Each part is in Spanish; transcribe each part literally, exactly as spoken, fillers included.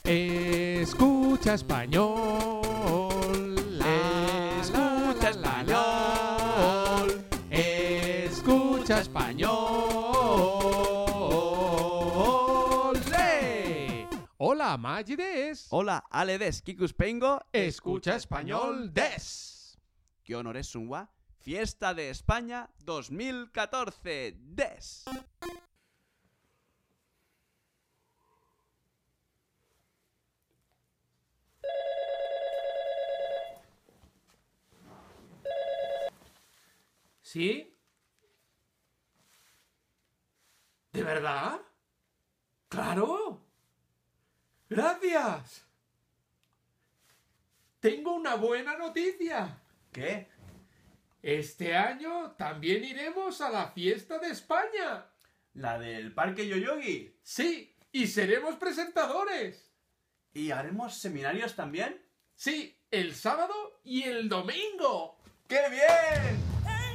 Escucha español. Escucha español. Escucha español. ¡Le! Hola, Maggi des. Hola, Ale des, Kikuspengo. Escucha español des. ¿Qué honores sunwa? Fiesta de España dos mil catorce des. ¿Sí? ¿De verdad? ¡Claro! ¡Gracias! Tengo una buena noticia. ¿Qué? Este año también iremos a la fiesta de España. ¿La del Parque Yoyogi? Sí, y seremos presentadores. ¿Y haremos seminarios también? Sí, el sábado y el domingo. ¡Qué bien!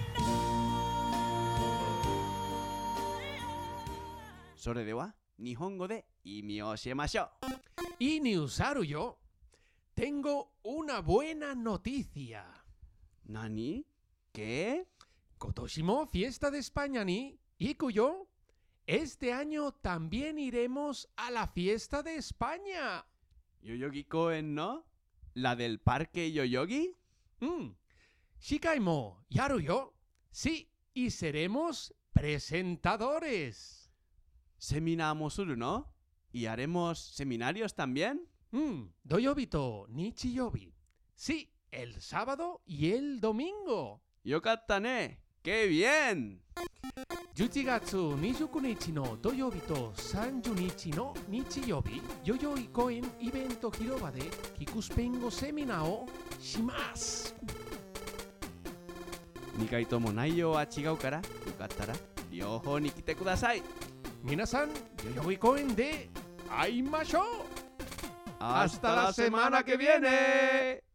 それでは日本語で意味を教えましょう。 Y Niusaru yo, tengo una buena noticia. 何? ¿Qué? Kotoshimo fiesta de España ni iku yo. Este año también iremos a la fiesta de España. ¿Yoyogi Koen no? ¿La del Parque Yoyogi? Mm. Shikai mo yaru yo. Sí, y seremos presentadores. ¿Seminamos suru no? ¿Y haremos seminarios también? Mm. Doyobi to nichiyobi. Sí, el sábado y el domingo. ¡Yokatta ne! ¡Qué bien! じゅういちがつにじゅうくにちの土曜日とさんじゅうにちの日曜日、代々木公園イベント広場でキクスペイン語セミナーをします。 にかいとも内容は違うから、よかったら両方に来てください。 皆さん、代々木公園で会いましょう。 Hasta la semana que viene!